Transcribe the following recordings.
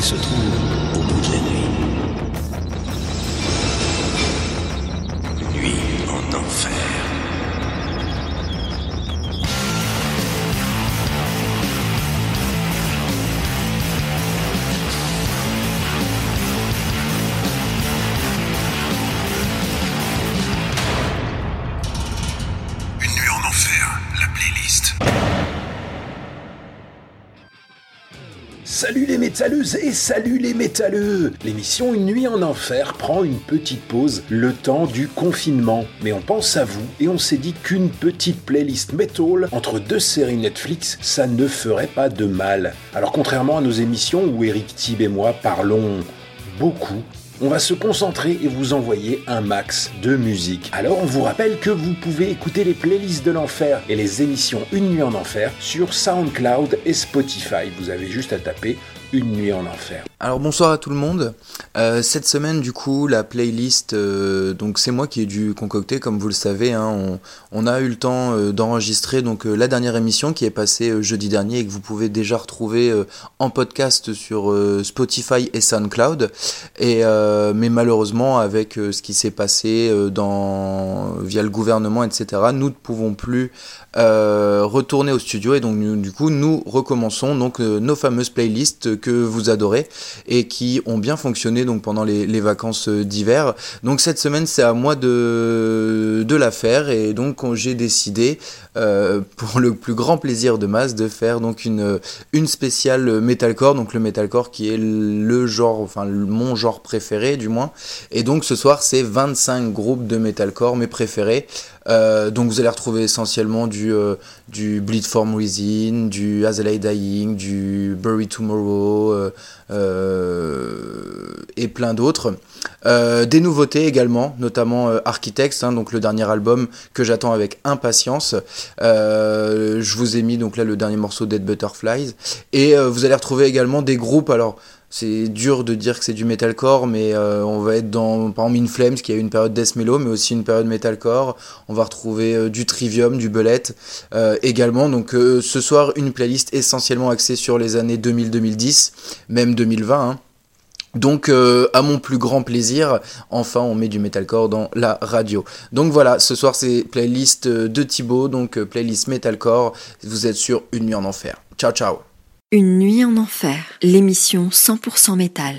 se trouve au bout de la nuit. Nuit en enfer. Une nuit en enfer, la playlist. Salut les métalleuses et salut les métalleux. L'émission Une nuit en enfer prend une petite pause le temps du confinement. Mais on pense à vous et on s'est dit qu'une petite playlist metal entre deux séries Netflix, ça ne ferait pas de mal. Alors contrairement à nos émissions où Eric Thib et moi parlons beaucoup, on va se concentrer et vous envoyer un max de musique. Alors on vous rappelle que vous pouvez écouter les playlists de l'enfer et les émissions Une nuit en enfer sur SoundCloud et Spotify. Vous avez juste à taper Une nuit en enfer. Alors bonsoir à tout le monde. Cette semaine du coup la playlist, donc c'est moi qui ai dû concocter comme vous le savez. On a eu le temps d'enregistrer donc la dernière émission qui est passée jeudi dernier et que vous pouvez déjà retrouver en podcast sur Spotify et SoundCloud. Mais malheureusement avec ce qui s'est passé via le gouvernement etc. Nous ne pouvons plus retourner au studio et donc nous recommençons donc nos fameuses playlists que vous adorez et qui ont bien fonctionné donc pendant les vacances d'hiver. Donc cette semaine c'est à moi de la faire et donc j'ai décidé pour le plus grand plaisir de Mas de faire donc une spéciale metalcore, donc le metalcore qui est le genre, enfin mon genre préféré du moins. Et donc ce soir c'est 25 groupes de metalcore mes préférés. Donc vous allez retrouver essentiellement du Bleed From Within, du As I Lay Dying, du Bury Tomorrow et plein d'autres. Des nouveautés également, notamment Architects, donc le dernier album que j'attends avec impatience. Je vous ai mis donc là le dernier morceau Dead Butterflies et vous allez retrouver également des groupes. Alors c'est dur de dire que c'est du metalcore, mais on va être dans, par exemple, In Flames, qui a eu une période death mellow, mais aussi une période metalcore. On va retrouver du Trivium, du Bullet également. Donc ce soir, une playlist essentiellement axée sur les années 2000-2010, même 2020. Hein. Donc à mon plus grand plaisir, enfin on met du metalcore dans la radio. Donc voilà, ce soir c'est playlist de Thibaut, donc playlist metalcore. Vous êtes sur Une nuit en enfer. Ciao ciao. Une nuit en enfer, l'émission 100% métal.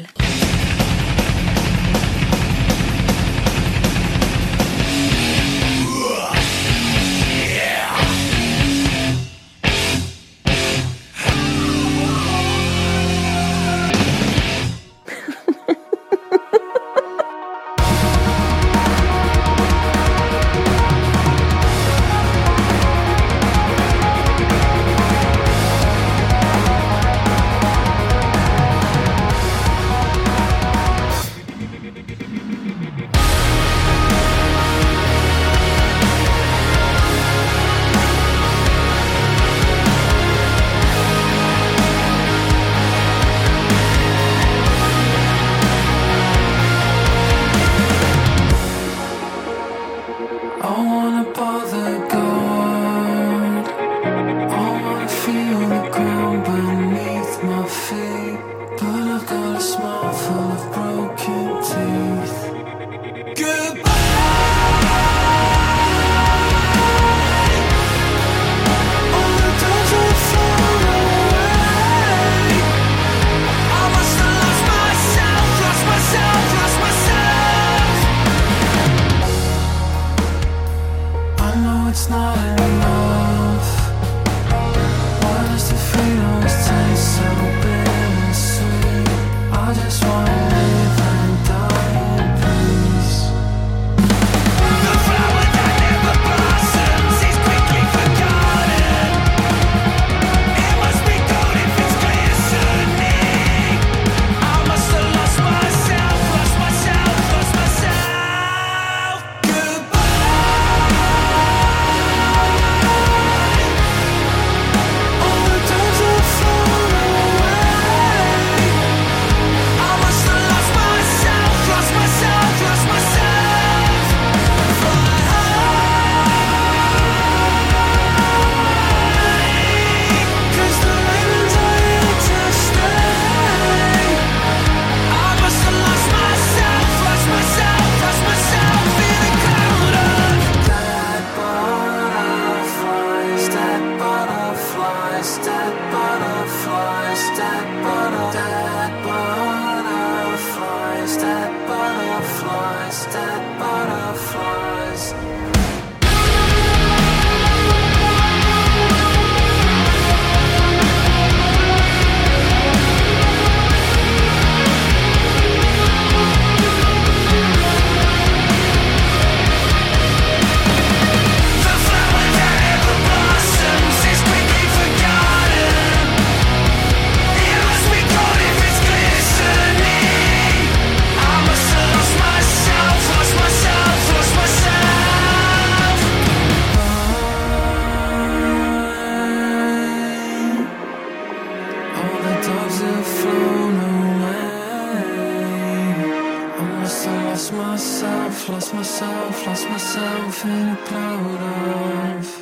lost myself in a cloud of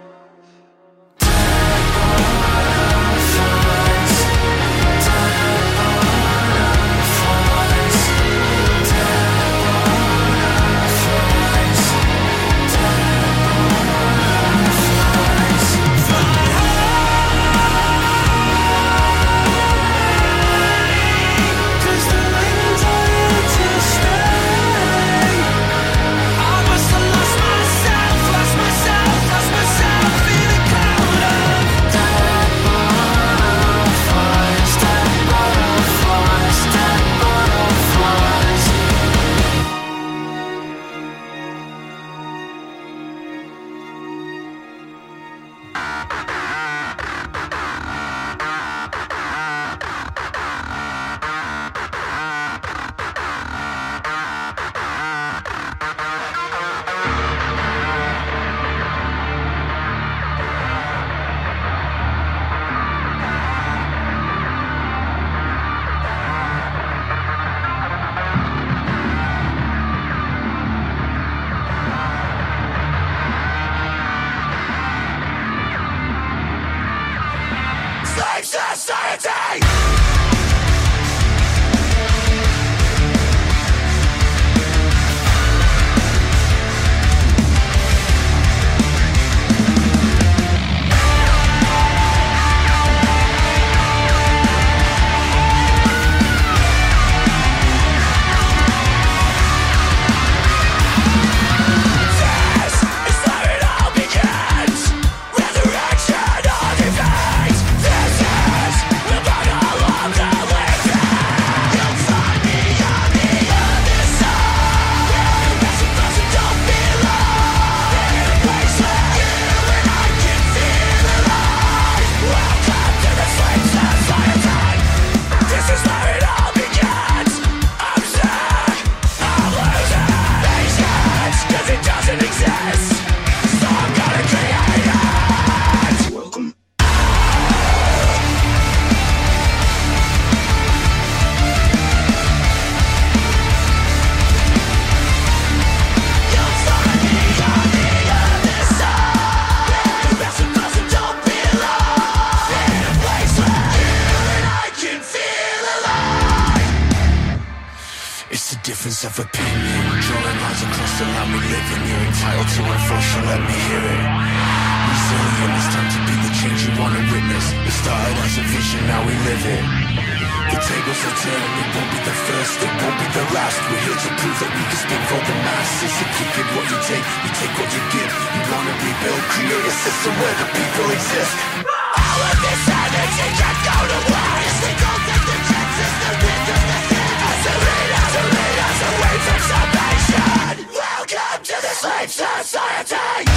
of opinion, drawing lines across the land we live in. You're entitled to enforce, so let me hear it. Resilient, it's time to be the change you want to witness. It started as a vision, now we live it. The tables are turning, it won't be the first, it won't be the last. We're here to prove that we can speak for the masses. If you give what you take what you give. You wanna rebuild, create a system where the people exist. All of this energy can't go to waste. We don't take the chances, the windows, the hit. As a leader, away from salvation. Welcome to the slave society.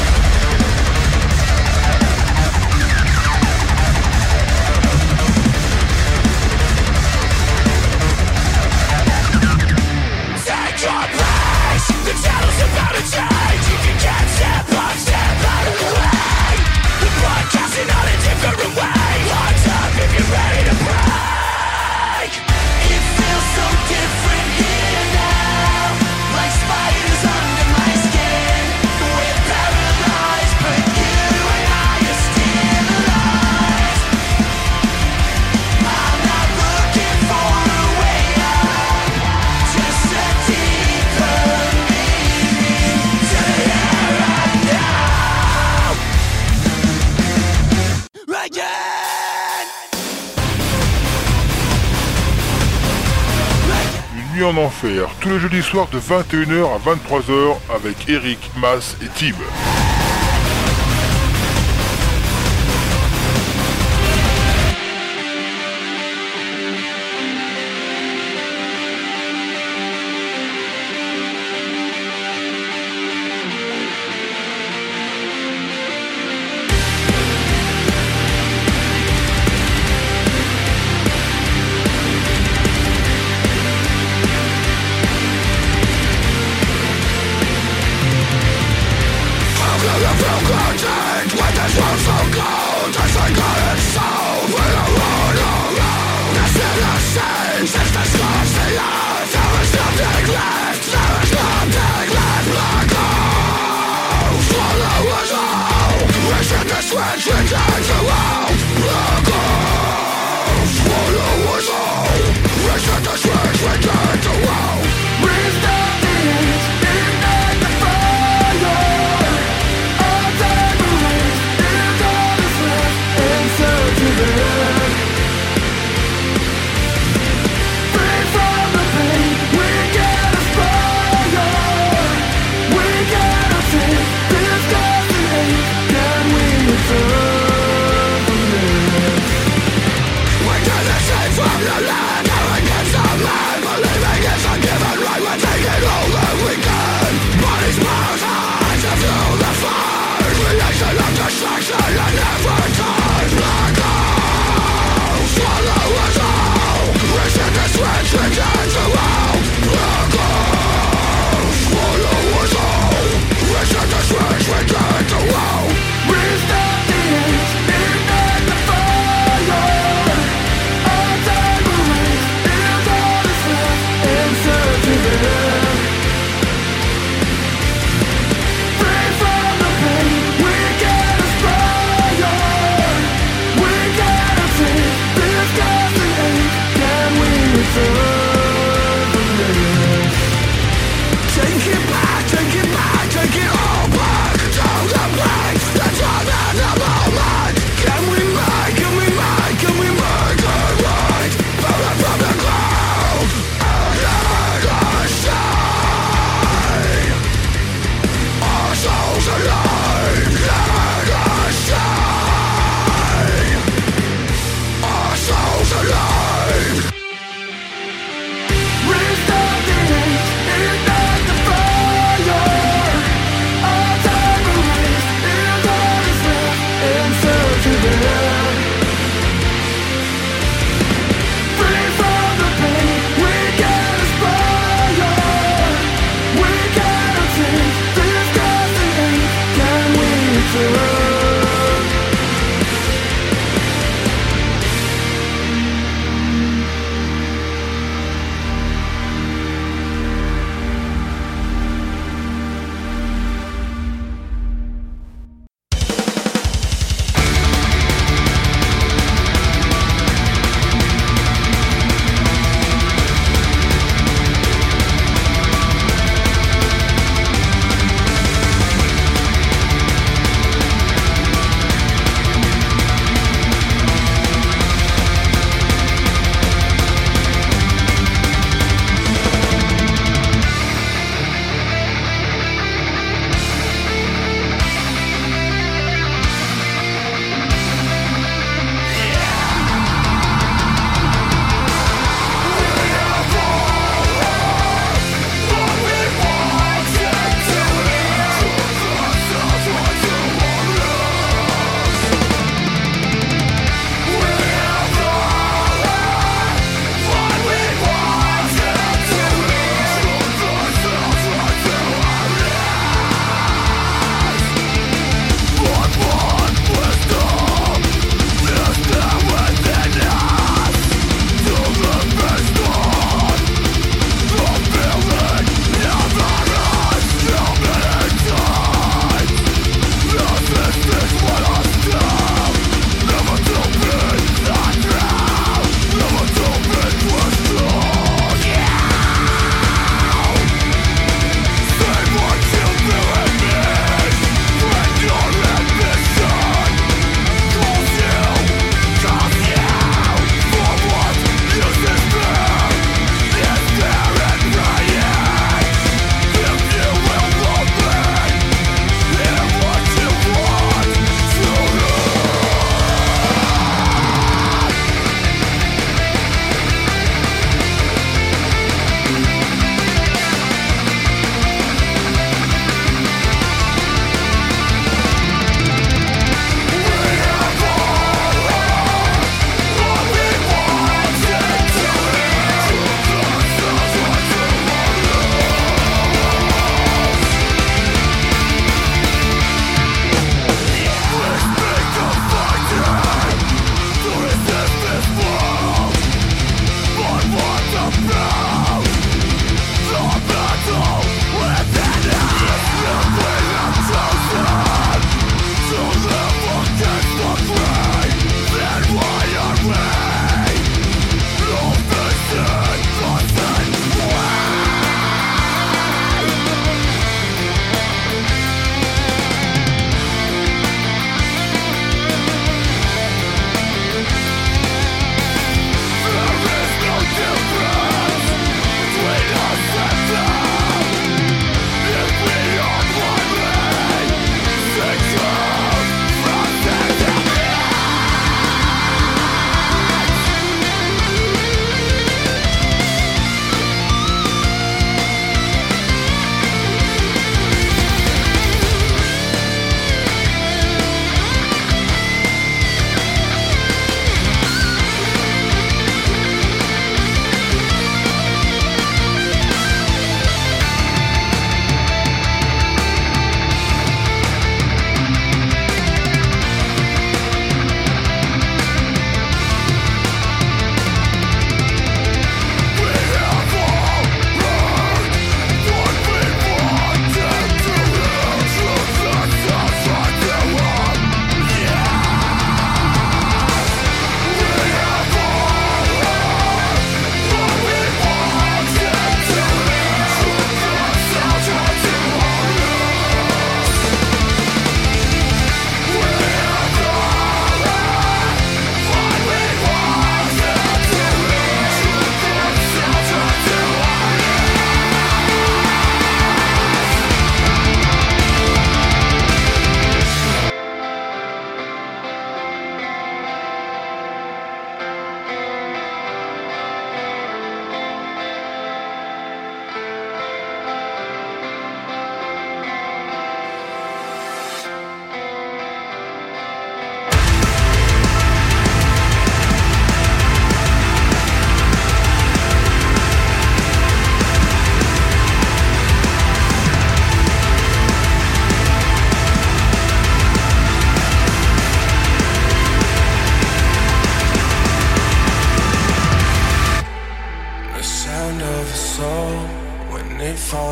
Take your place. The channel's about to change. If you can't step up, step out of the way. We're broadcasting on a different way. Hearts up if you're ready to break. It feels so different here now. Like spiders under my skin. We're paralyzed, but you and I are still alive. I'm not looking for a way out, just a deeper meaning to the here and now. Again. Une nuit en enfer, tous les jeudis soirs de 21h à 23h avec Eric, Mas et Tim. How This destiny, can we return?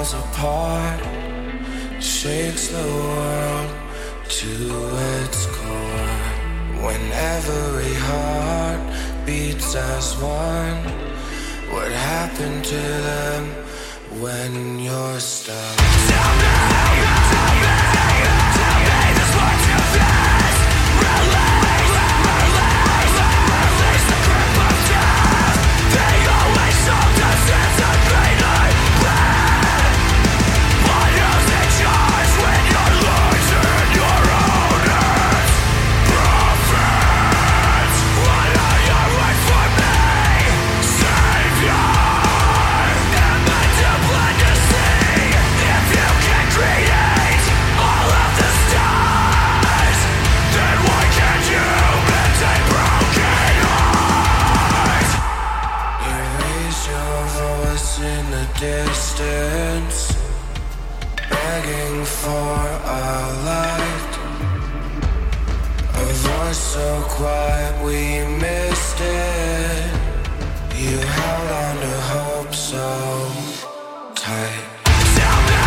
falls apart, shakes the world to its core. When every heart beats as one, what happened to them when you're stuck? Tell me this what you face. Release the grip of death. They always sold us as a greater plan. But who's in charge when you're losing your own hands? Prophets, what are your words for me? Savior, am I to blind to see? If you can create all of the stars, then why can't you mend a broken heart? You raise your voice in the distance, begging for a light. A voice so quiet we missed it. You held on to hope so tight. Tell me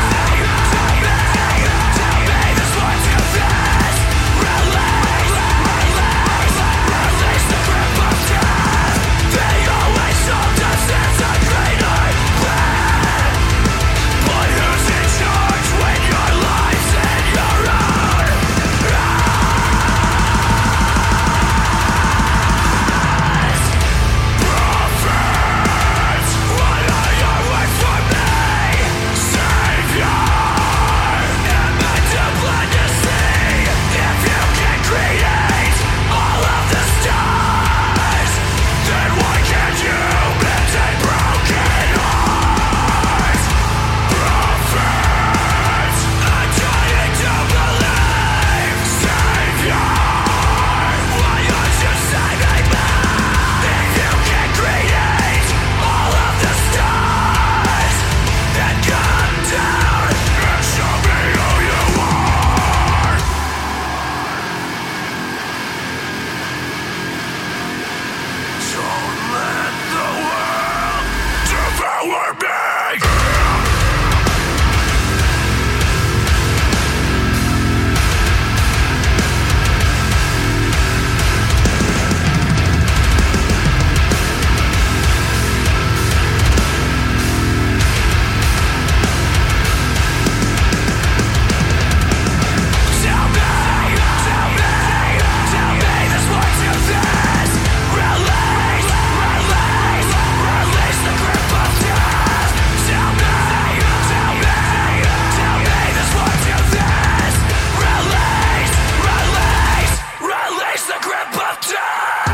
this what you face. Release the grip of death. They always sold us as a greater plan. But who's in charge when your life's in your own? Prophets, what are your words for me? Savior, am I too blind to see? If you can create all of the stars, then why can't you mend a broken heart? Prophets, I'm trying to believe. Savior, why aren't you saving me? If you can create all of the stars, then come down and show me who you are. Don't let the world devour me. Tell me this what you face. Release the grip of death. Tell me this what you face. Release the grip of death.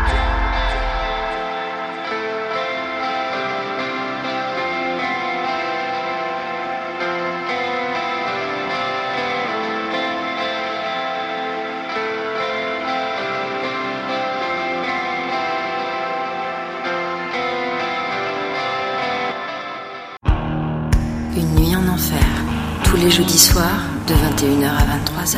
Une nuit en enfer, tous les jeudis soirs de 21h à 23h.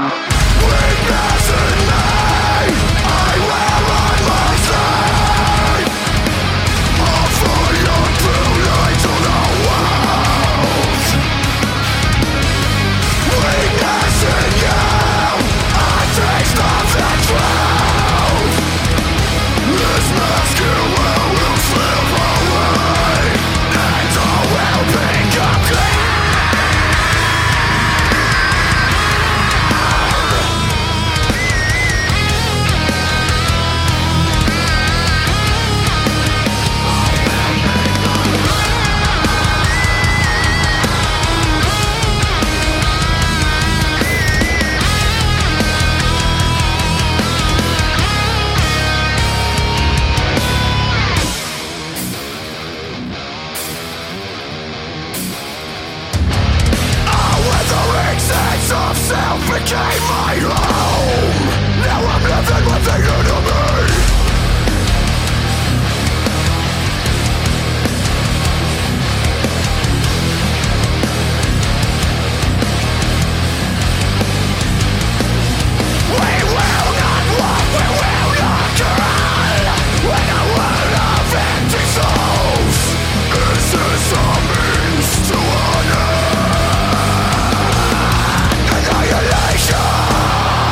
Annihilation.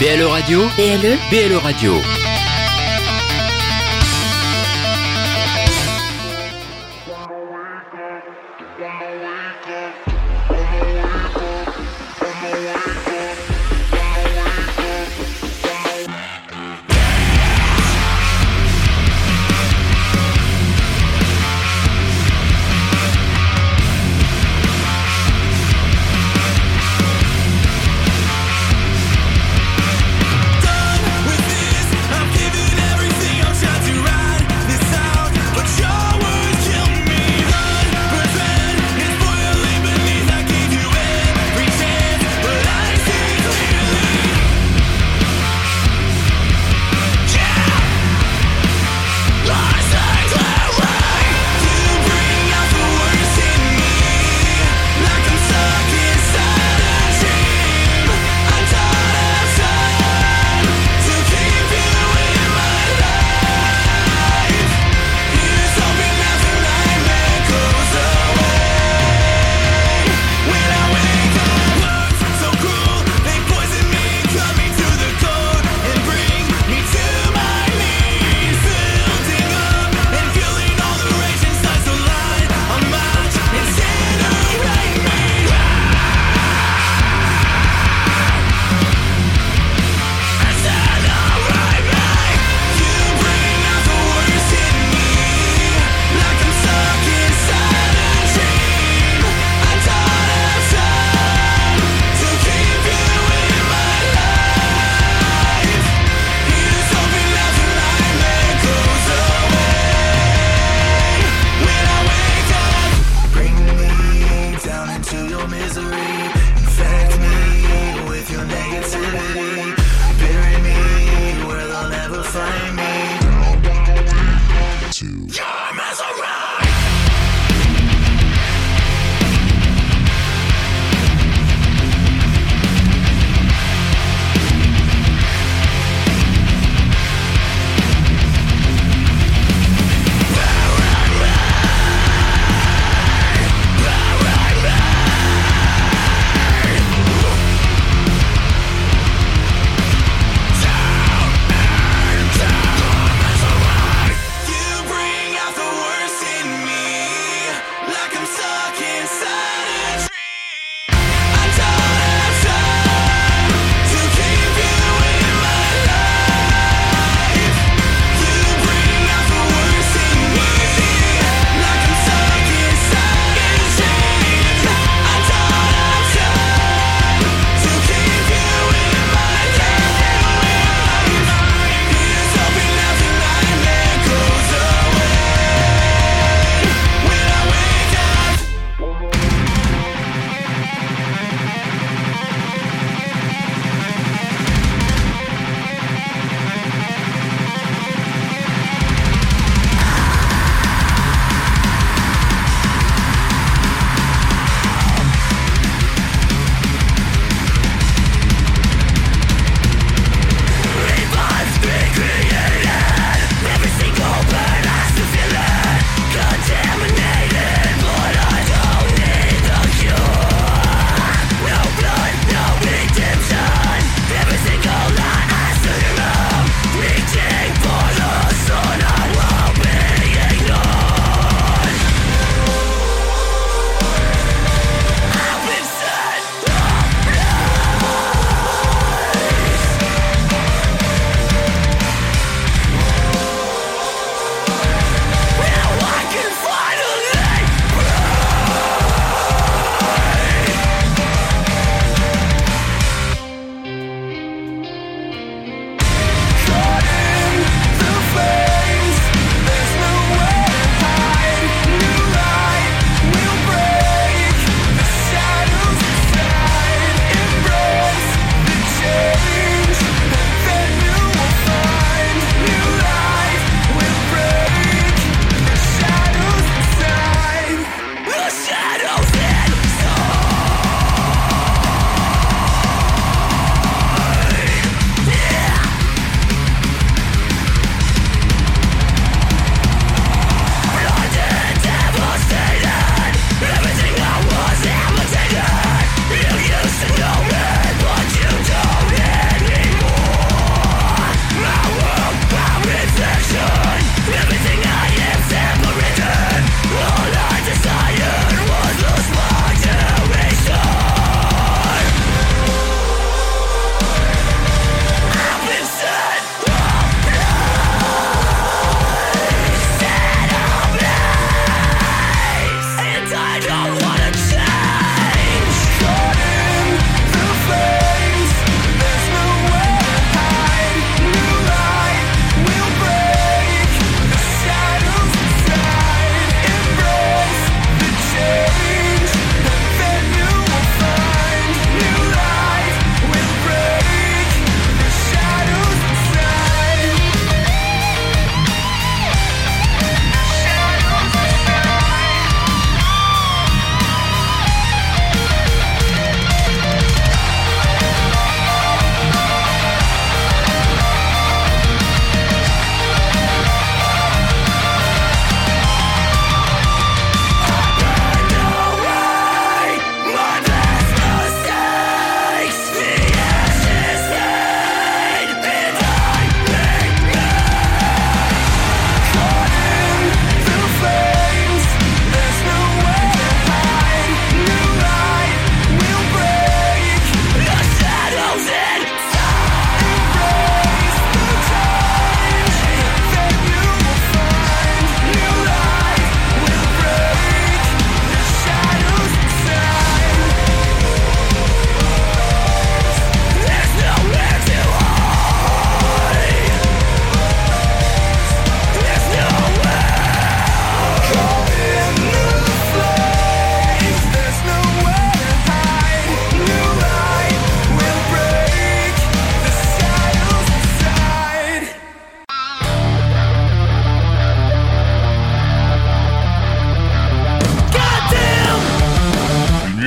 BLE Radio. BLE. BLE Radio. Done with this.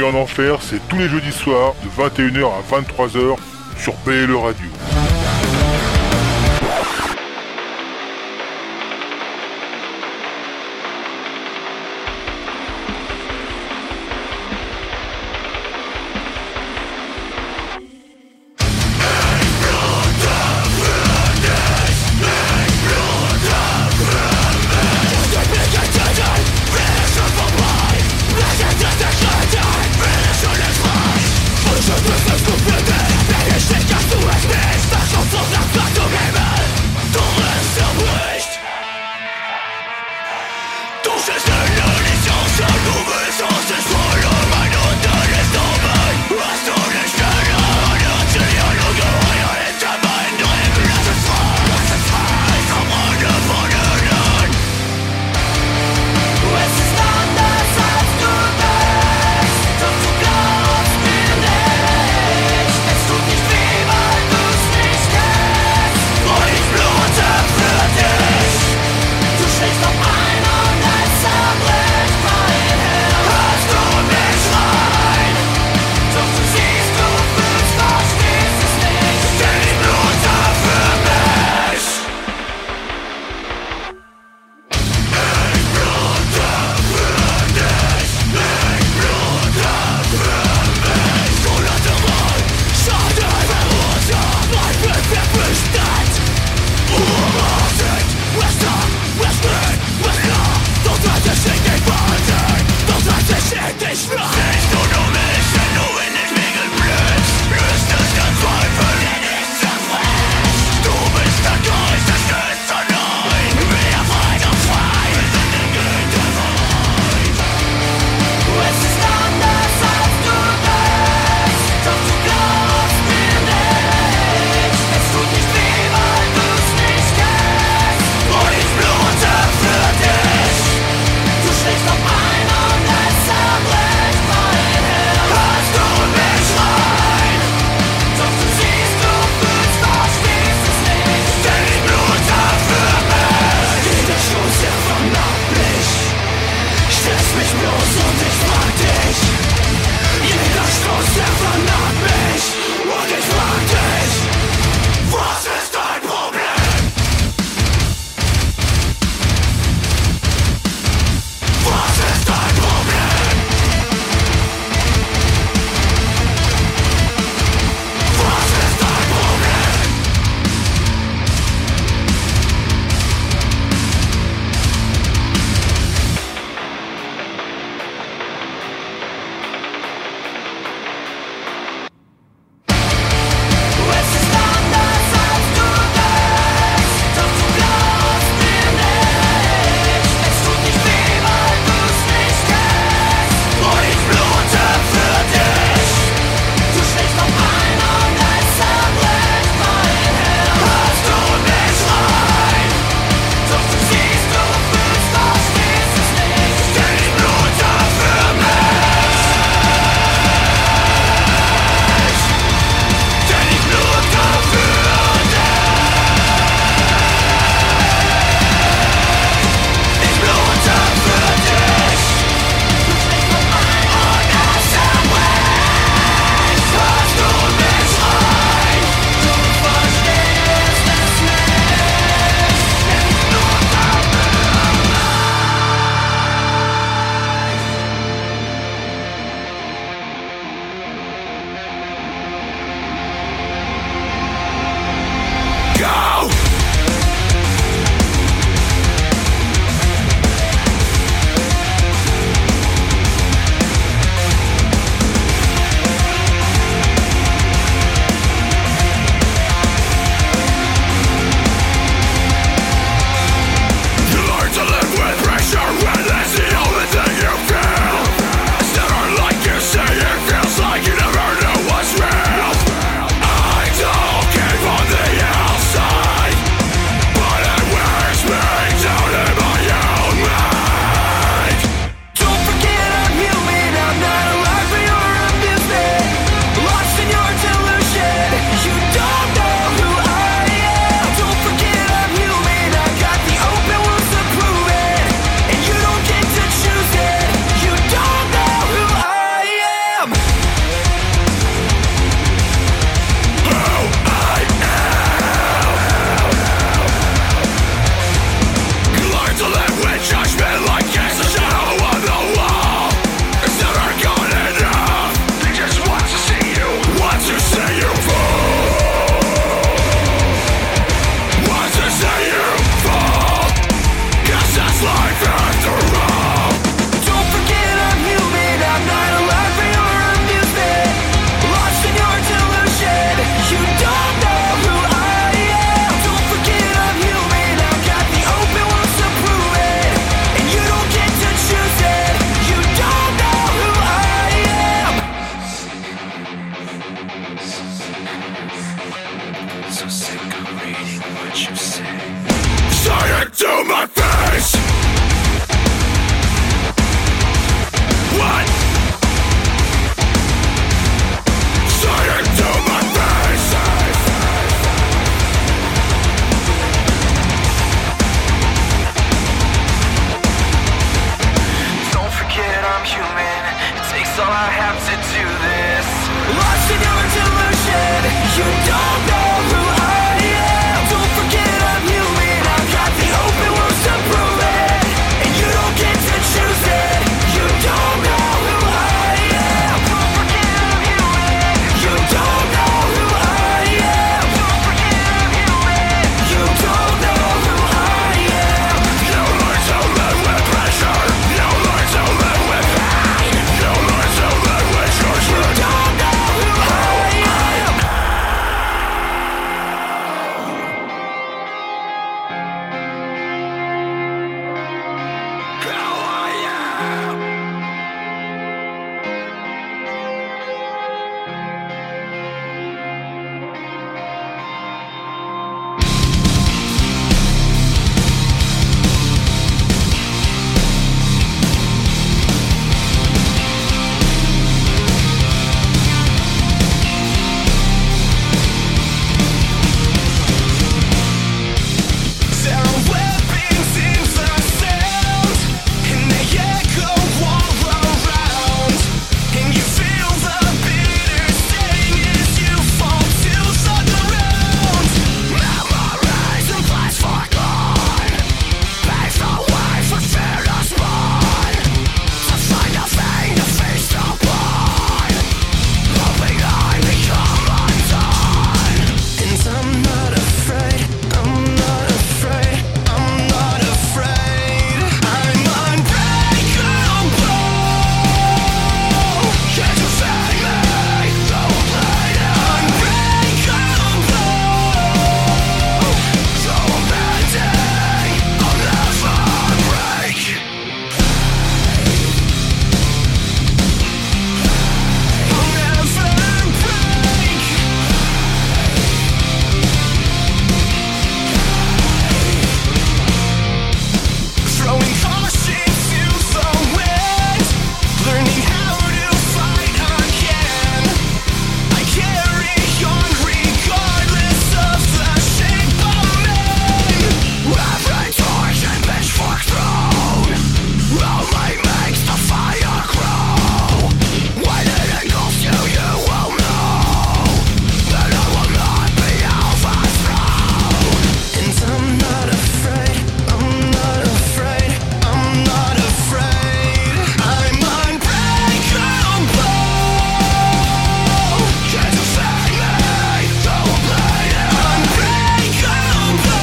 en Enfer, c'est tous les jeudis soirs de 21h à 23h sur PLE Radio. Finish the gas to exist. so sick of reading what you say. Say it to my face! What? Say it to my face! Don't forget I'm human. It takes all I have to do this. Lost in your delusion. You don't know who I am. Don't forget I'm human. I've got the open wounds to prove it. And you don't get to choose it. You don't know who I am. Don't forget I'm human. You don't know who I am. Don't forget I'm human. You don't know who I am. You learn to live with pressure. You learn to live with pain. You learn to live with your truth. You don't know who I am. Who I am. There are weapons in the sound, and they echo all around. And you feel the bitter sting as you fall to the ground. Memories and plans forgone, paved the way for fear to spawn. To find a vein to face the blood, hoping I become undone. And I'm not afraid, I'm not afraid, I'm not afraid. I'm unbreakable. Can't you see me? Don't play it. Unbreakable. So amazing, I'll never break. I'll never break. Throwing caution to the wind, learning how to fight again. I carry on regardless of the shape I'm in. Every torch and pitchfork thrown only makes the fire grow. When it engulfs you, you will know that I will not be overthrown. And I'm not afraid, I'm not afraid, I'm not afraid. I'm unbreakable. Can't you see me? Don't play it. Unbreakable.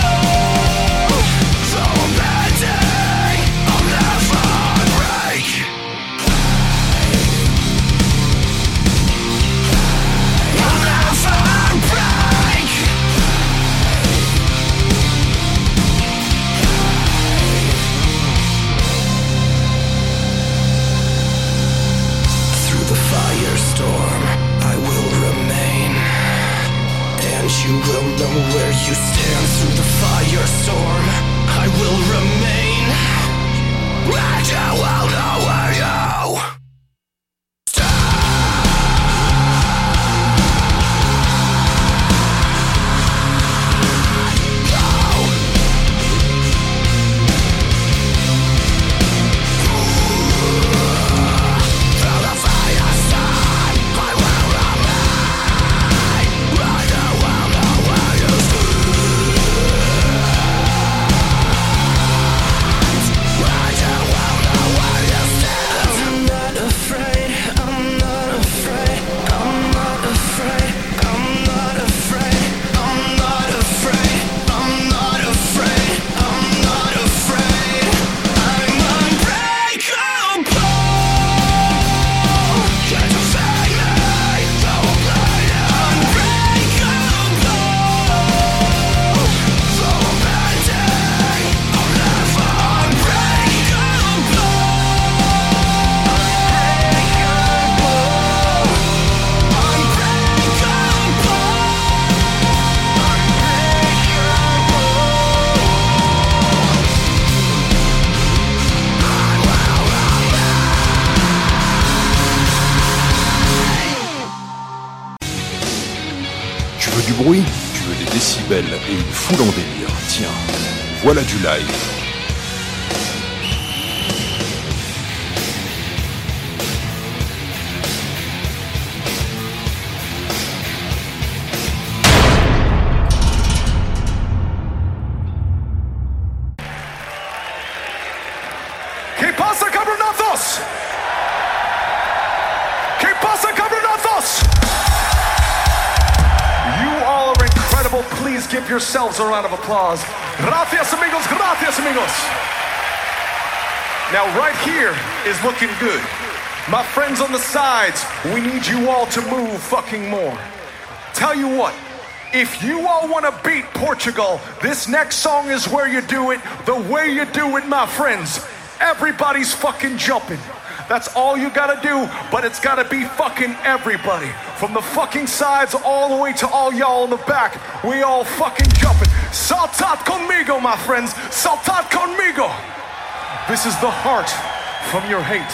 So amazing, I'll never break. I'll never break. Through the firestorm, I will remain, and you will know where you stand. Through the firestorm, I will remain, and you will know where you stand. Through the firestorm, I will remain, and you will know where you stand. And you will know where you stand. I'm not veux du bruit? Tu veux des décibels et une foule en délire? Tiens, voilà du live. ¿Qué pasa, cabronazos? ¿Qué pasa, cabronazos? You all are incredible. Please give yourselves a round of applause. Gracias, amigos. Gracias, amigos. Now, right here is looking good. My friends on the sides, we need you all to move fucking more. Tell you what, if you all want to beat Portugal, this next song is where you do it the way you do it, my friends. Everybody's fucking jumping. That's all you gotta do, but it's gotta be fucking everybody. From the fucking sides all the way to all y'all in the back, we all fucking jumping. Saltad conmigo, my friends. Saltad conmigo. This is the heart from your hate.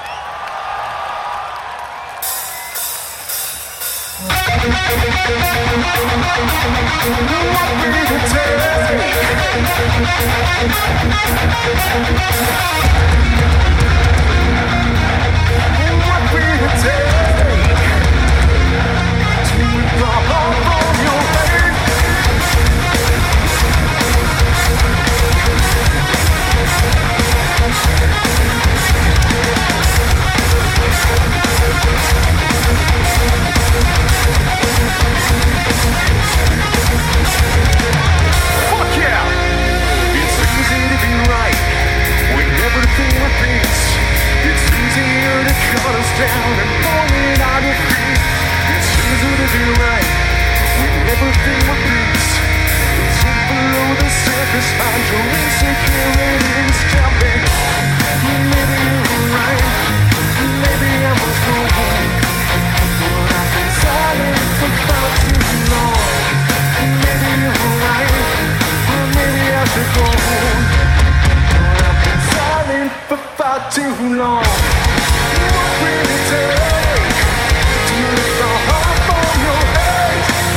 Fuck yeah! It's easy to be right when everything repeats. It's easier to cut us down and point our defeat. It's easier to be right when everything repeats. It's in below the surface, find your insecurities. Tell me, maybe you're right, maybe I was wrong, but I've been silent for far too long. Maybe you're right, or maybe I should go home, but I've been silent for far too long. What will it take to lift the heart from your head?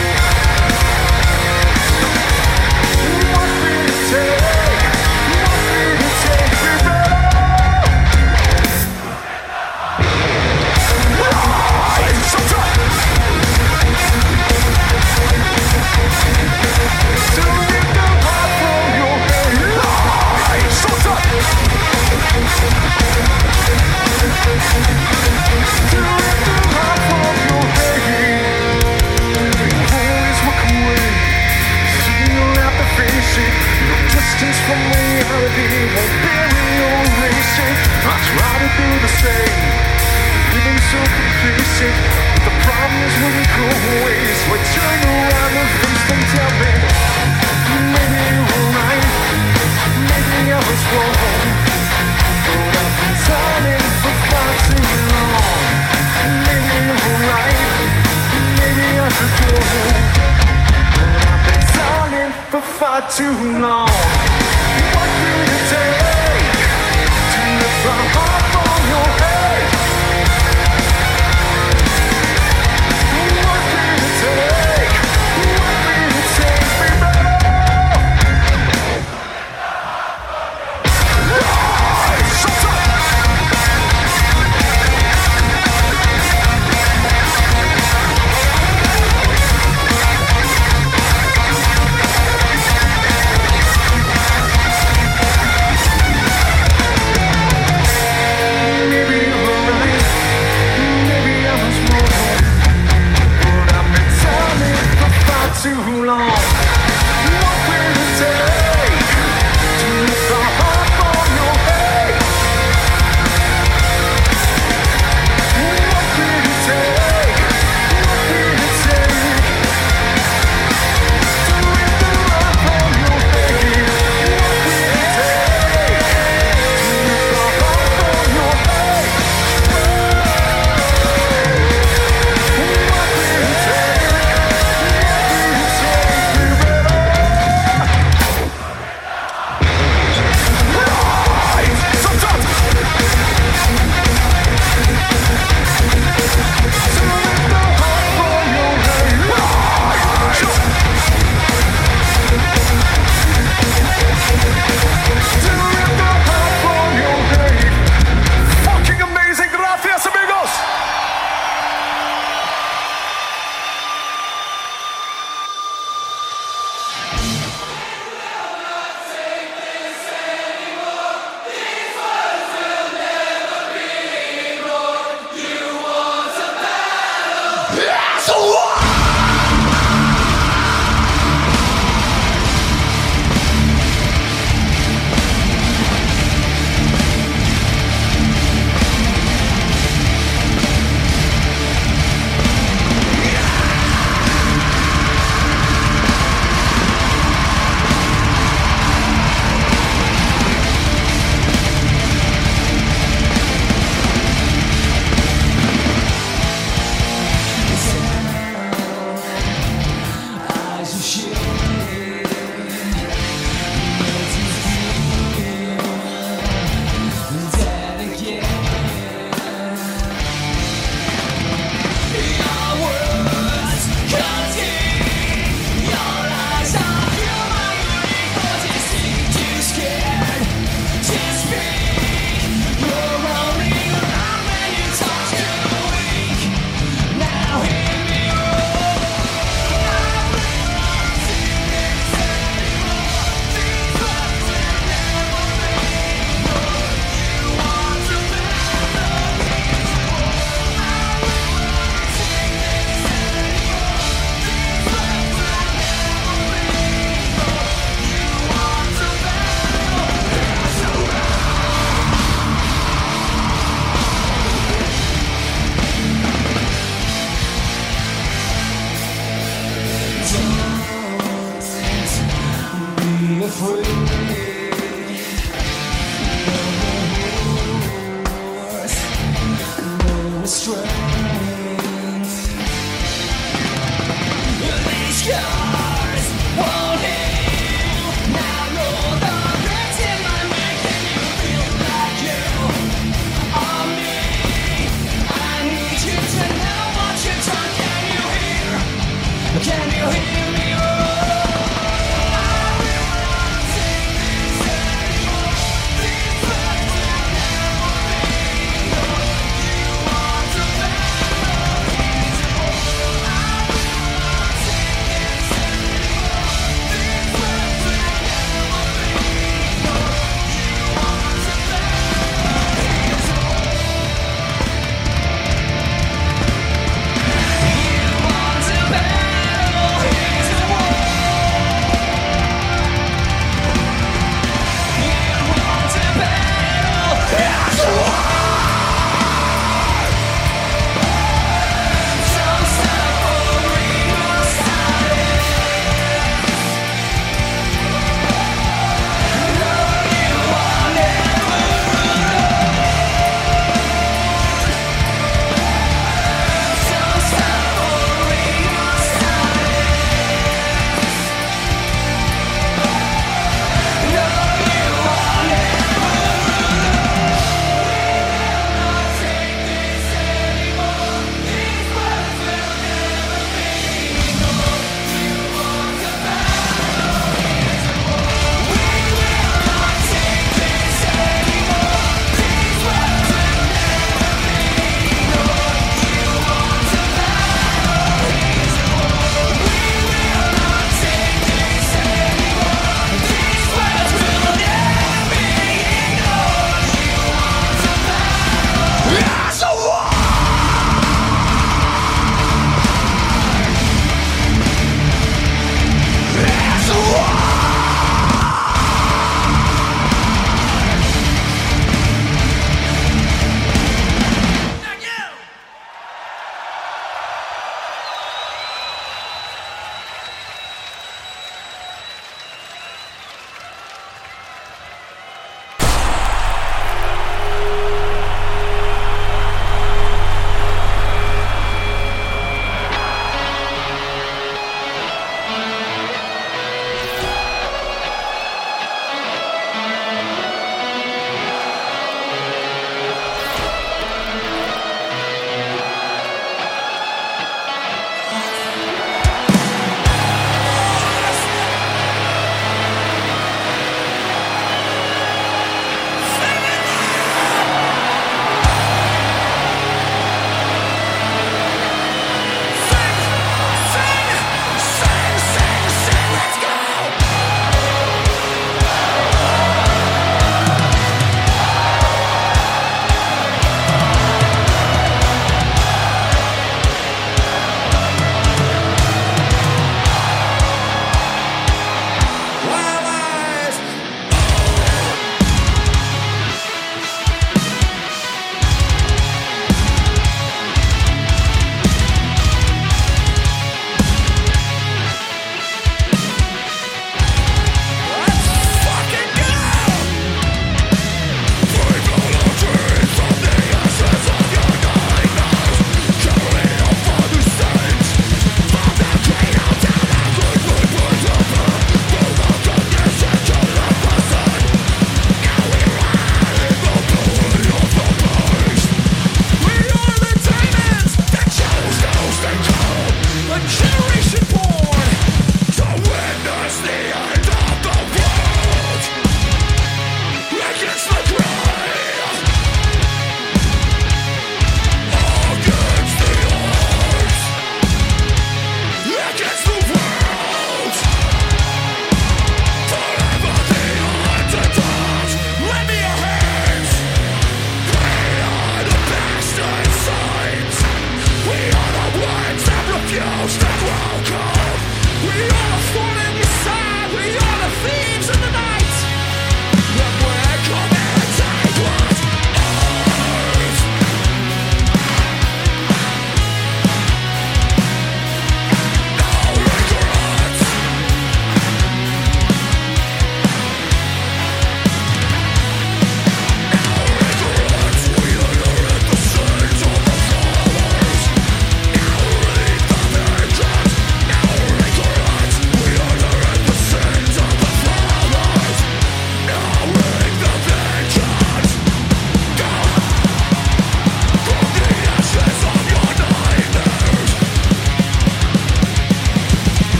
What will it take? What will it take, baby? It's so tough. To lift the heart from your head. It's so tough. To lift the heart from your head. Always walk away, so you'll have to face it. Your distance from reality won't bury your racing. I try to do the same, living so complacent, but the problem is when you go away, so I turn around and face them. Tell me, maybe you were right, maybe I was wrong, but I've been silent for far too long. Maybe you were right, maybe I should go home, but I've been silent for far too long. What will it take to lift the heart from your head? What will it take? What will it take, baby? It's so tough.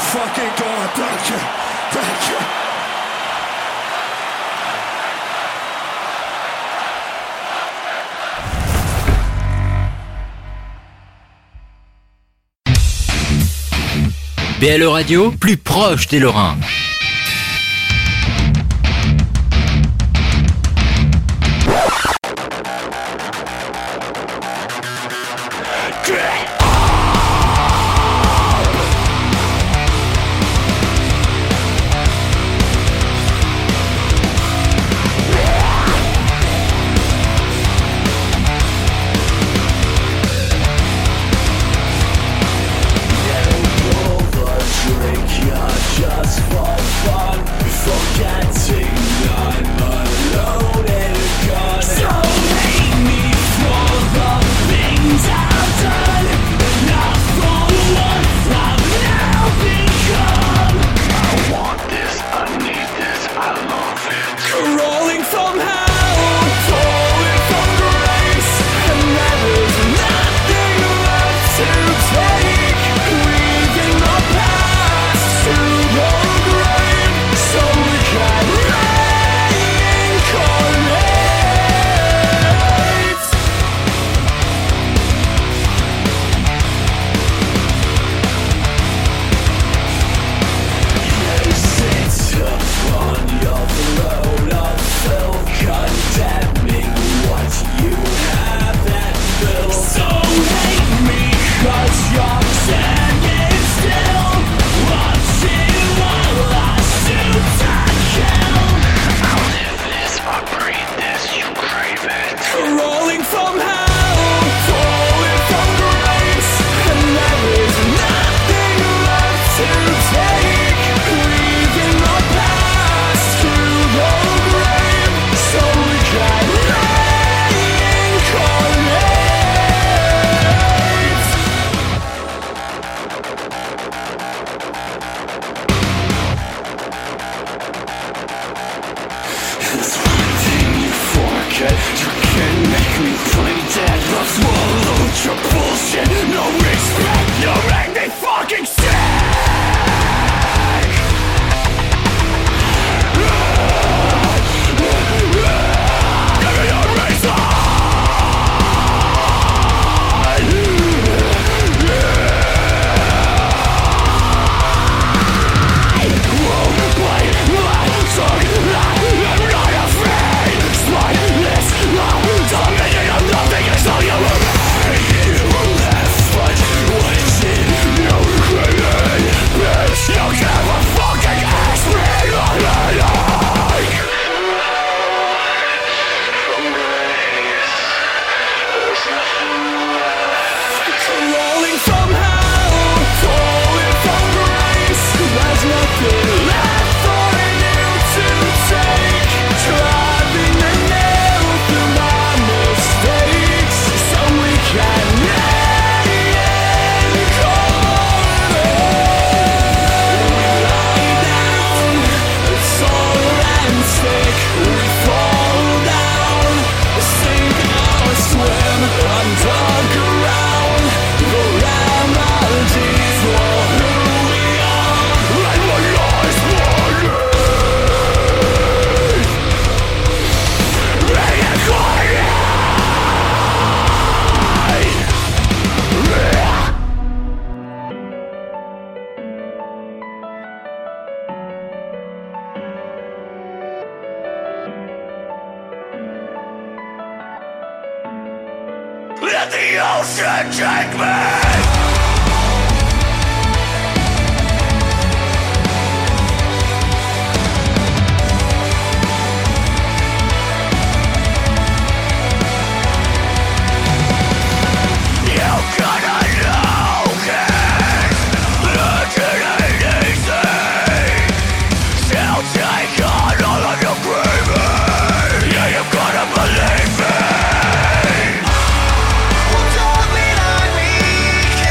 fucking God, thank you, thank you. BLE Radio, plus proche des Lorrains. Just for fun, forgetting I'm alone and gone. So hate me for the things I've done, not for what I've now become. I want this, I need this, I love it. Crawling from hell, falling from grace, and there is nothing left to take. Leaving the past to the grave, so we can reincarnate. You sit upon your throne of filth, condemning what you have and built. So hate me 'cause you're standing still, watching while I shoot and kill. I'll live this, I breathe this, you crave it. Rolling from hell, falling from grace, and there is nothing left to take. Leaving the past to the grave, so we can reincarnate. There's one thing you forget, you can make me play dead. I'll swallow your bullshit, no respect, you make me fucking sick. Give me a reason. Won't play my song, I'm not afraid. Spineless, dominating of nothing is all you remain. You left but what's in you created. Bitch, you never fucking ask me what I like. From grace, there's nothing left. Rolling from hell, falling from grace, there's nothing left for you to take. Driving the nail through my mistakes, so we can reincarnate. We lie down, it's all and sick. We fall down, sink or swim underground. The remedies for who we are and what lies beneath. Let the ocean take me. You gotta know this, legend ain't easy. Still take on all of your grieving. Yeah, you gotta believe me. Don't be like me.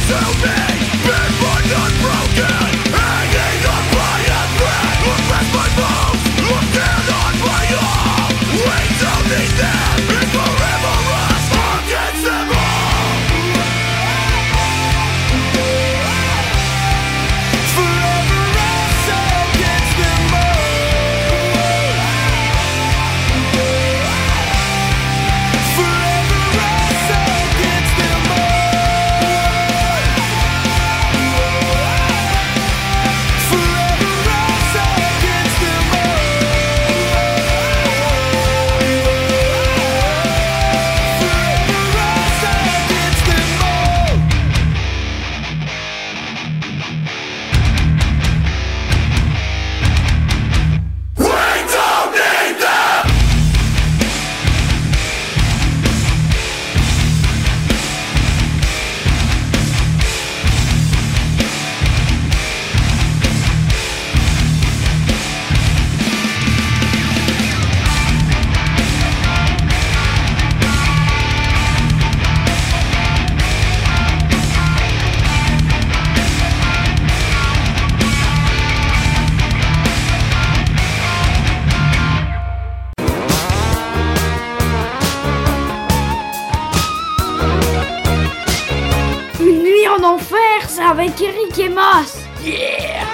Avec Eric et Mas. Yeah!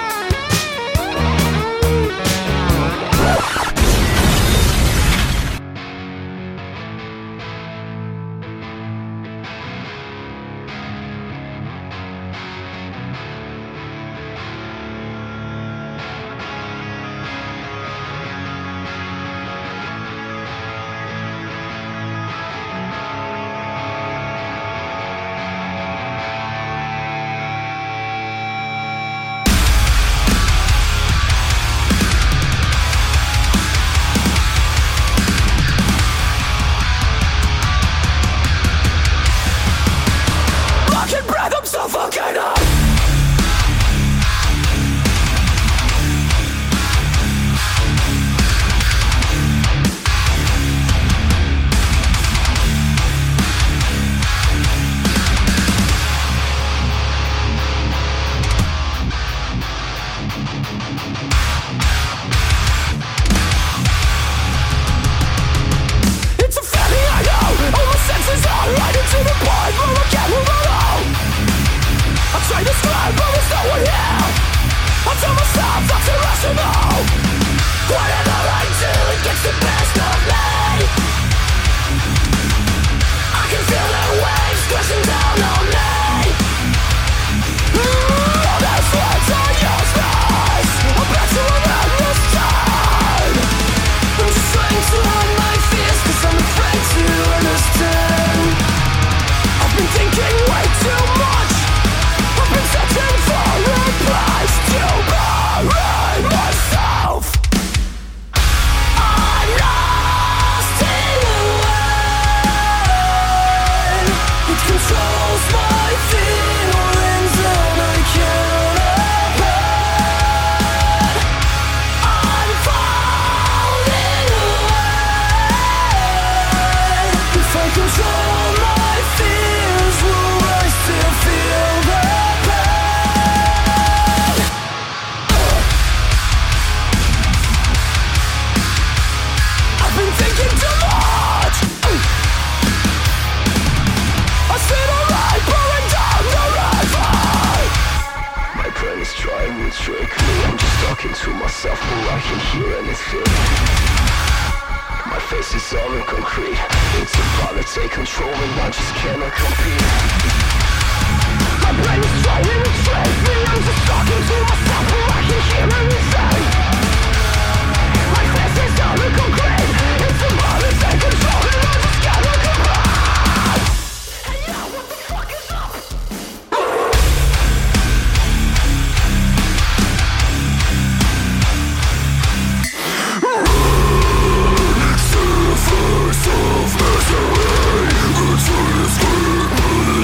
It's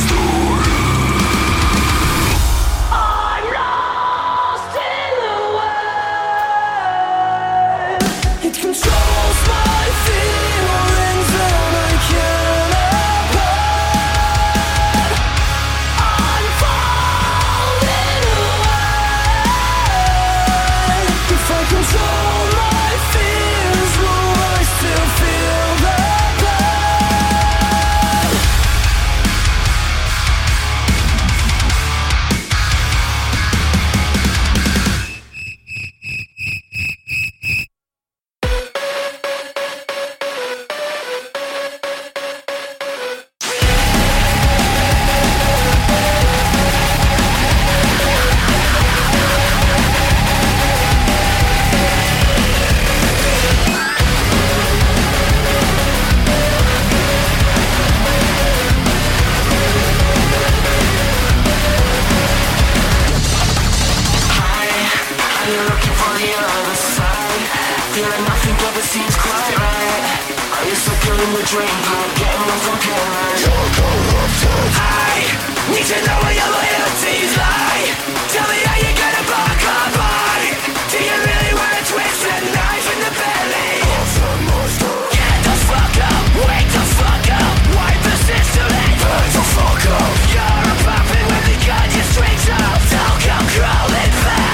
dream, getting off on killing. You're corrupted. I need to know where your loyalties lie. Tell me how you're gonna buck or bite. Do you really wanna twist a knife in the belly of the monster? Get the fuck up, wake the fuck up, wipe the system and burn the fuck up. You're a puppet with the gun, your strings up. Don't come crawling back.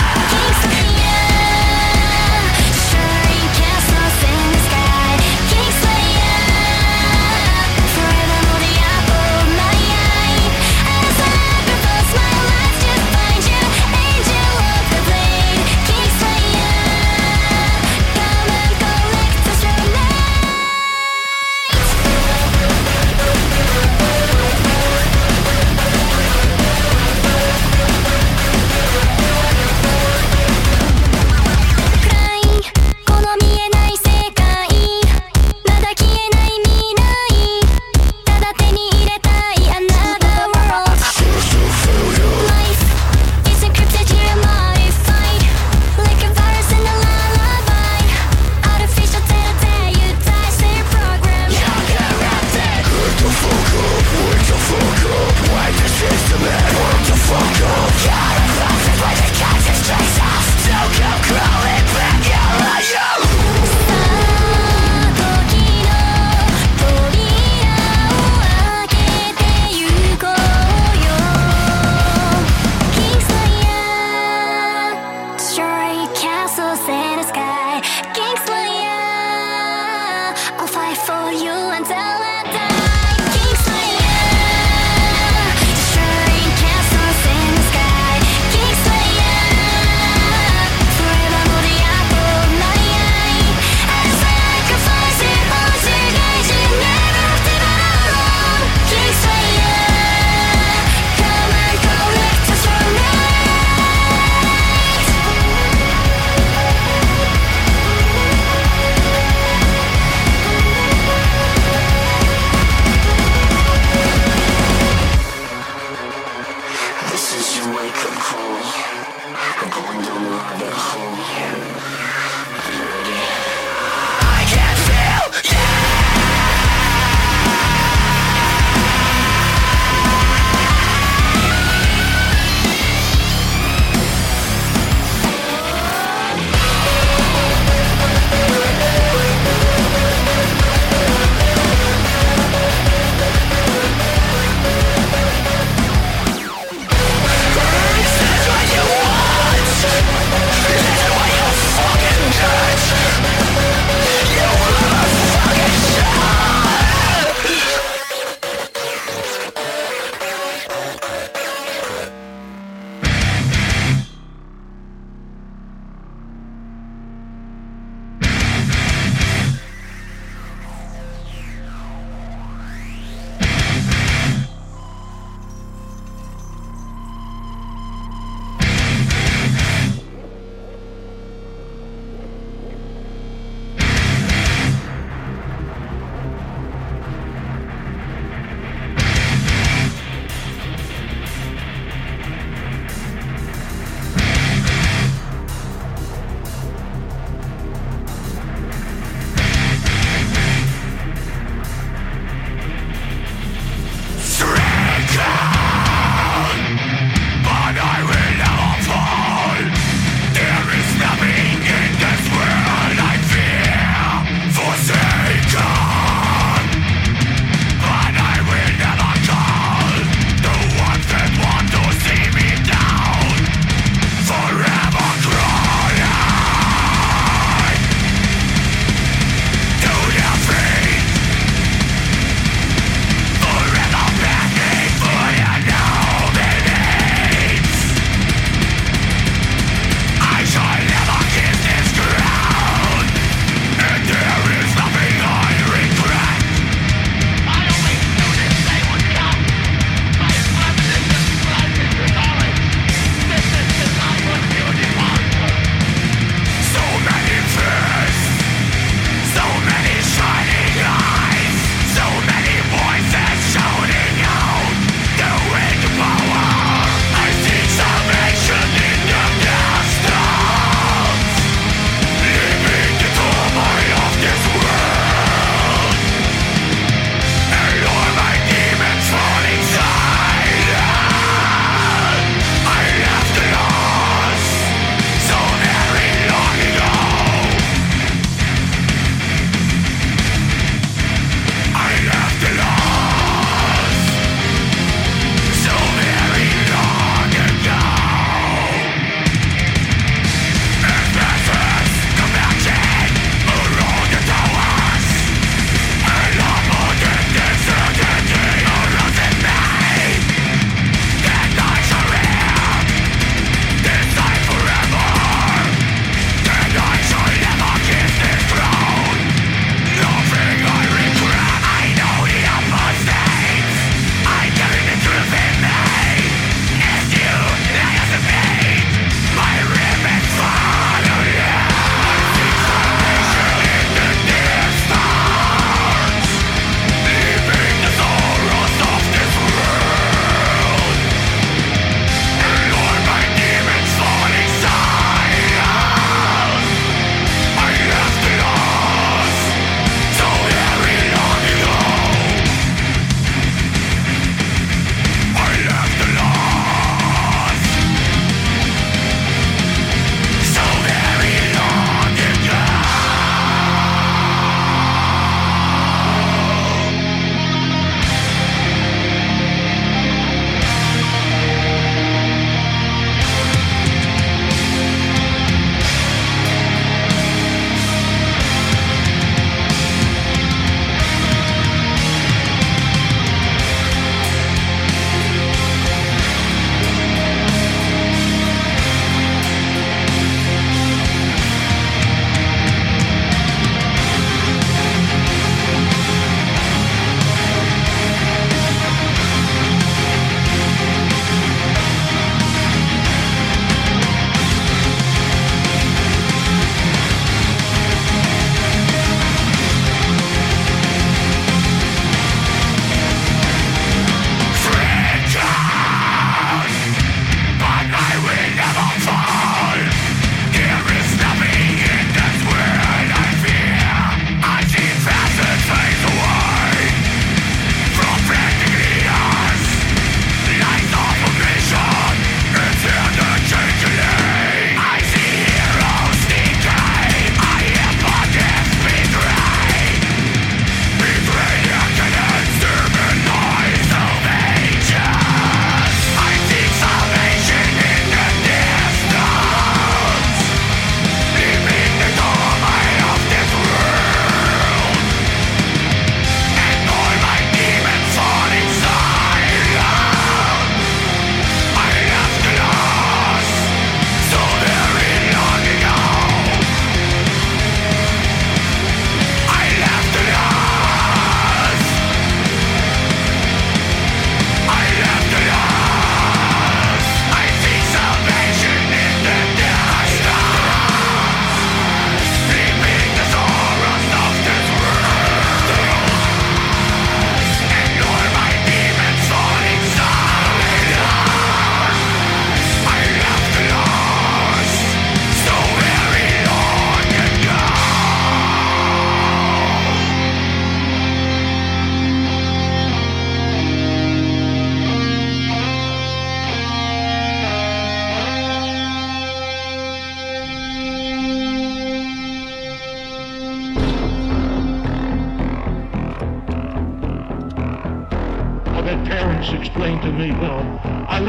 Forever hold the apple.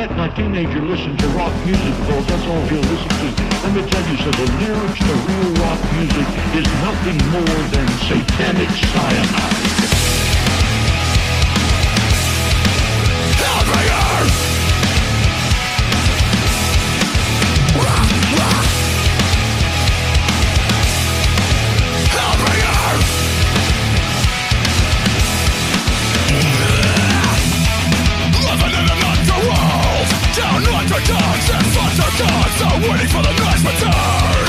let my teenager listen to rock music because that's all he'll listen to. Let me tell you, so the lyrics to real rock music is nothing more than satanic cyanide. Hellbringer! Down under dogs and foster gods are waiting for the night's return.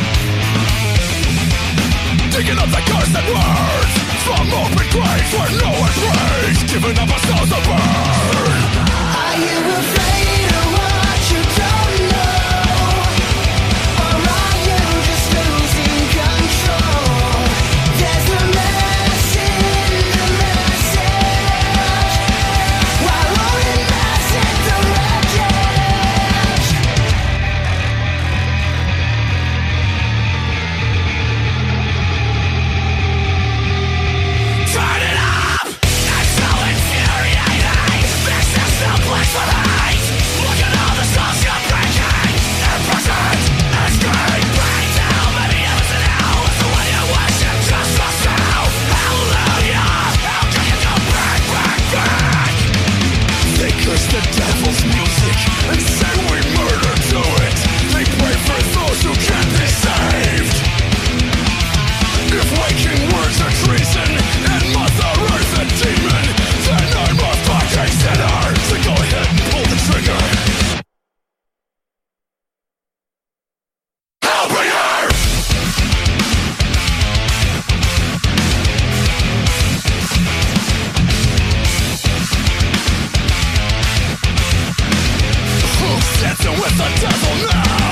Digging up the cursed words from open graves where no one prays, giving up our souls to burn. Are you afraid of what you don't know? Or are you just losing control? There's a mess in the message. Why won't it mess in the wreckage? Turn it up! I'm so infuriating. This is no place for hate. Look at all the souls you're breaking. Imprisoned, escaped, bring down many others in hell. It's the way you worship just yourself. Hallelujah! How can you go back, back, back? They curse the devil's music and say we murder to it. They pray for those who can't be saved. If waking words are treason and Mother Earth a demon, then I'm a fucking sinner. So go ahead and pull the trigger. Hellbringer! Who's dancing with the devil now?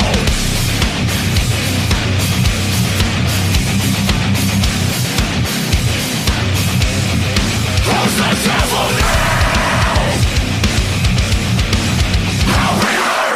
Who's the devil now? Hellbringer!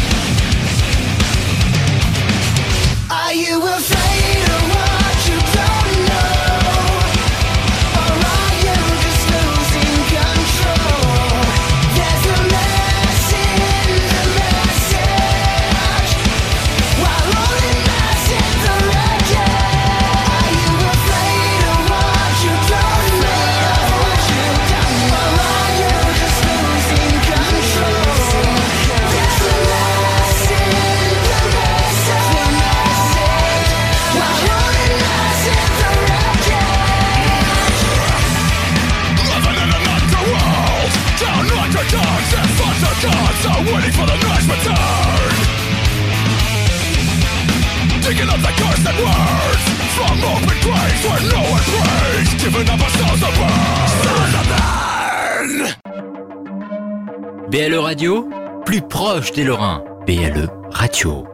Are you afraid of what you don't know? Or are you just losing control? There's a mess in the message. Why won't it mess in the wreckage? Are you afraid of what you don't know? Or are you just losing control? There's a mess in the message. Why won't it mess in the wreckage? Living in an underworld, down under dogs and foster gods are waiting for the night's return. Digging up the cursed words from open graves where no one prays, giving up our souls to burn. Souls to burn. BLE Radio, plus proche des Lorrains. BLE Radio.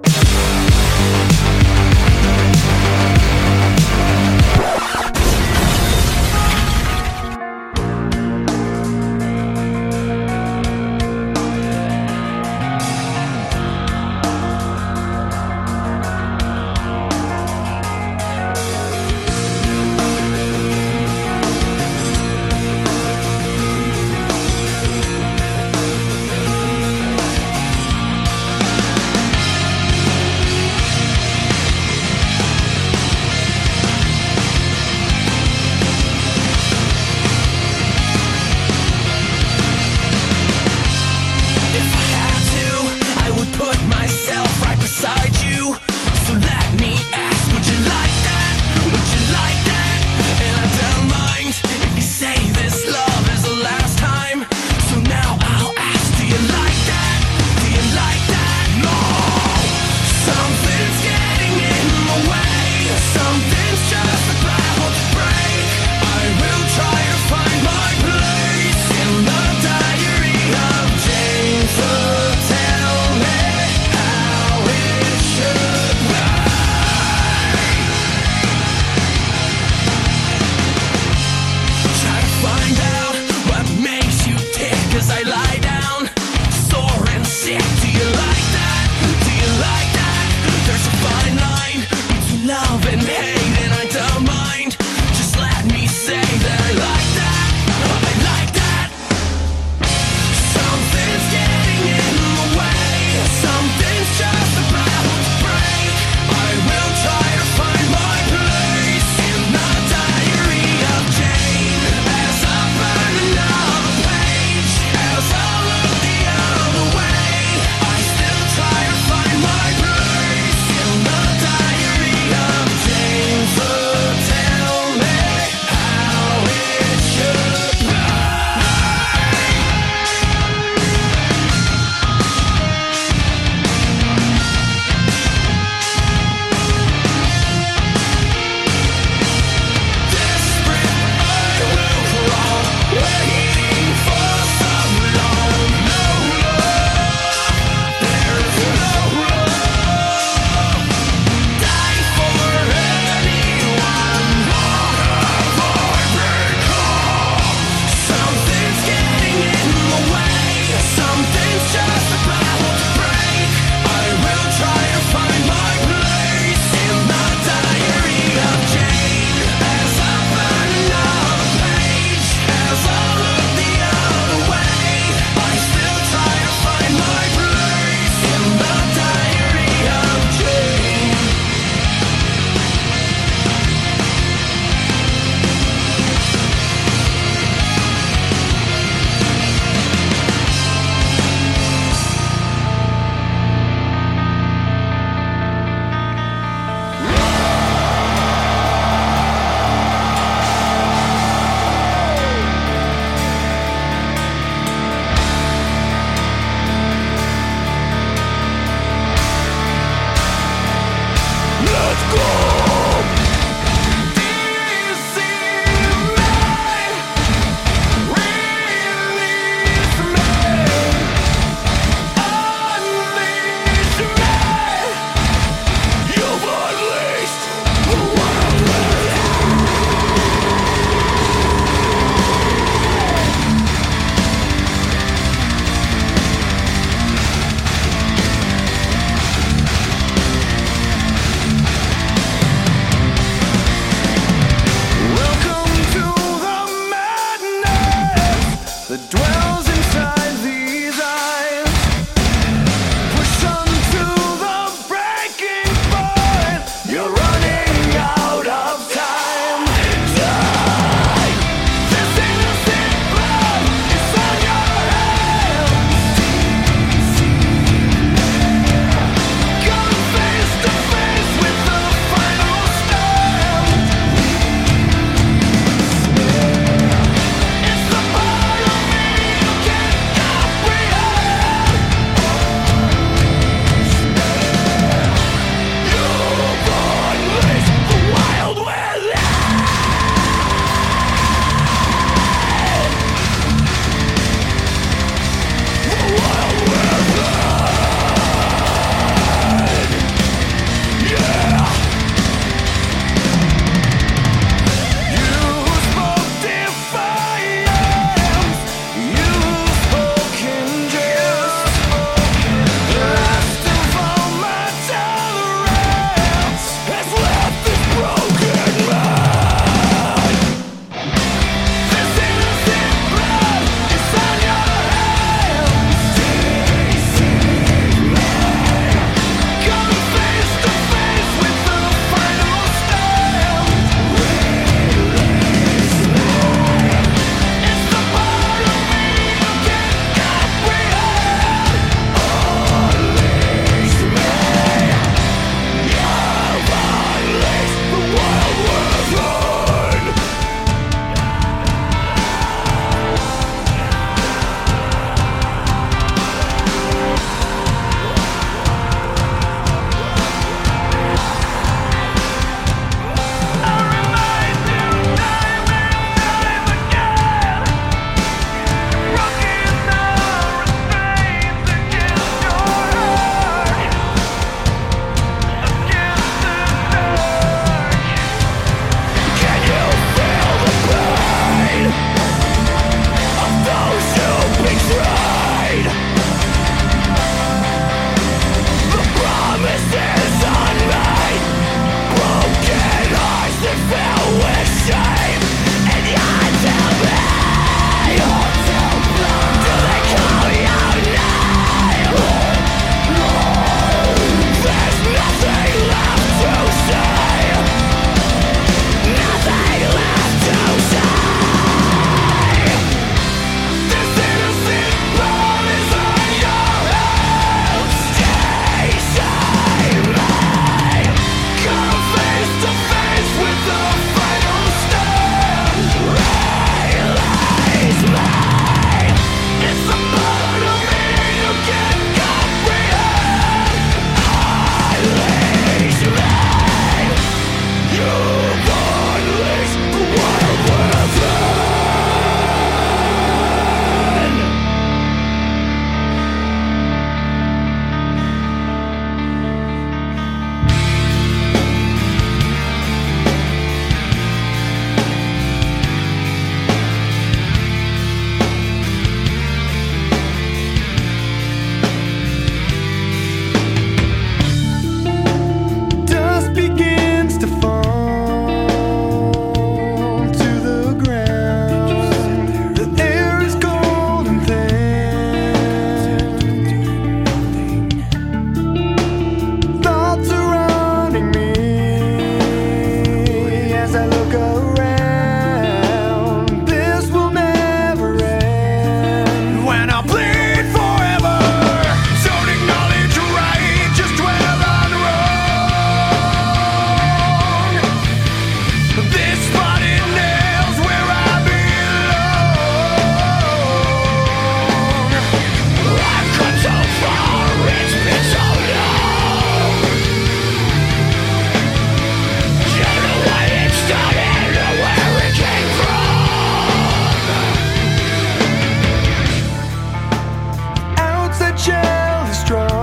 the child is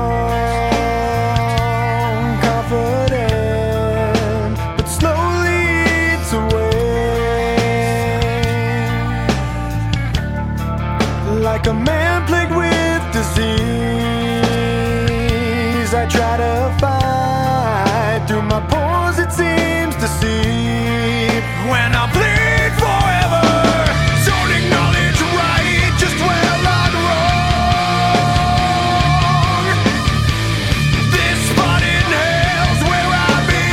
strong, confident, but slowly eats away. Like a man plagued with disease, I try to fight through my pores, it seems to see. When I bleed forever, don't acknowledge right just where I'm wrong. This spot in hell's where I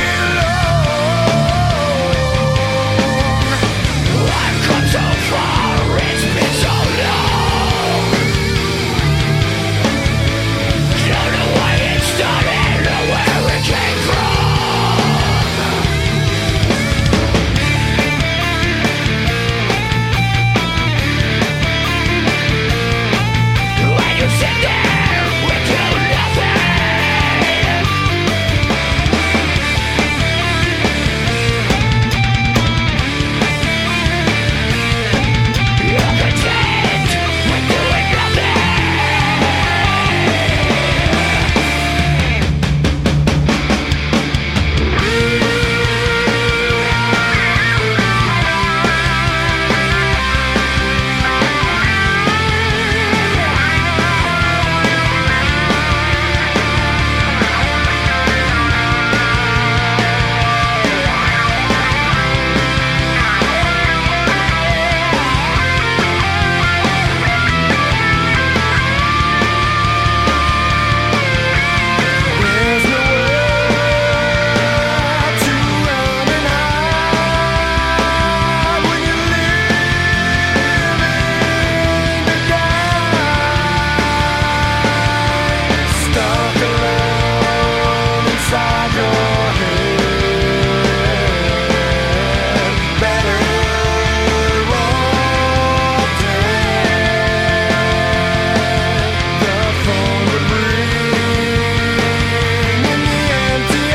belong. I've come so far, it's been so long. Don't know why it started or where it came from. When you sit there with do nothing, you're content with doing nothing. There's nowhere to run and hide when you live in the dark, stuck alone inside your head. Better off dead. The phone would ring in the empty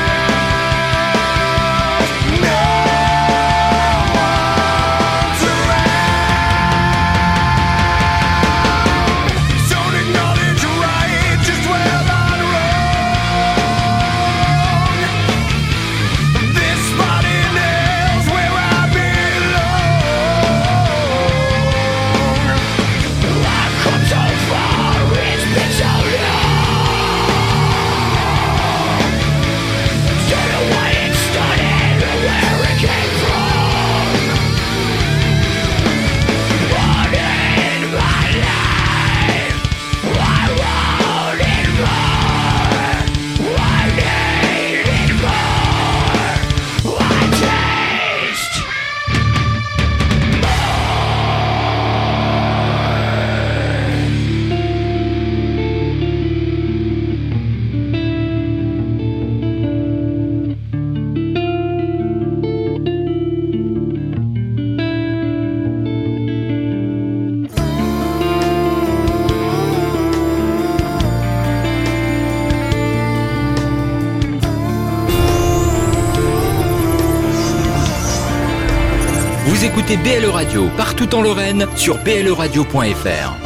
hours. No one's around. Don't acknowledge right just where I'm wrong. This spot in hell's where I belong. I've come so far, it's been so long. Don't know why it started or where it came from. What in my life, I wanted more. I needed more. I taste Vous écoutez BLE Radio partout en Lorraine sur bleradio.fr.